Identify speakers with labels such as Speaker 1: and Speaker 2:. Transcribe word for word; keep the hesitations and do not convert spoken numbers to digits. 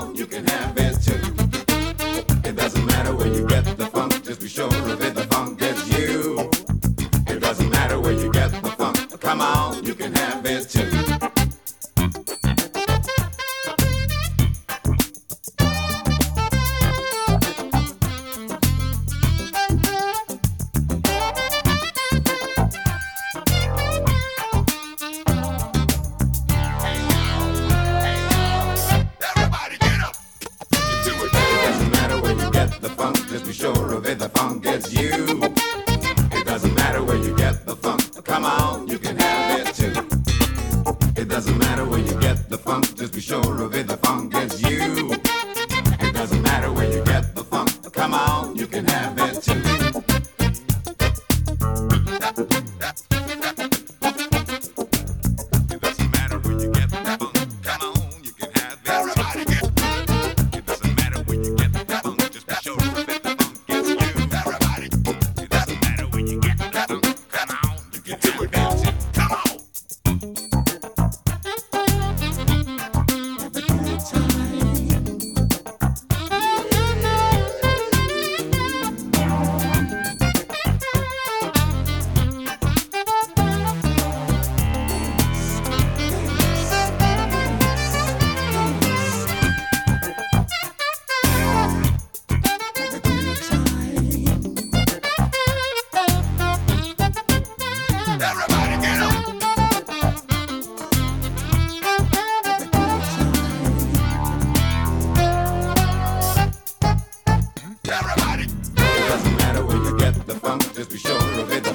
Speaker 1: on, you can have it too. It doesn't matter where you get the funk, just be sure of it, the funk gets you. It doesn't matter where you get the funk, come on, you can have it too. Just be sure of it, the funk gets you. It doesn't matter where you get the funk, come on, you can have it too. It doesn't matter where you get the funk, just be sure of it, the funk gets you. It doesn't matter where you get the funk, come on, you can have it too. It doesn't matter where you get the funk, come on, you can have it. Everybody get. It doesn't matter where you get the funk, just be sure of it. Just be sure of it.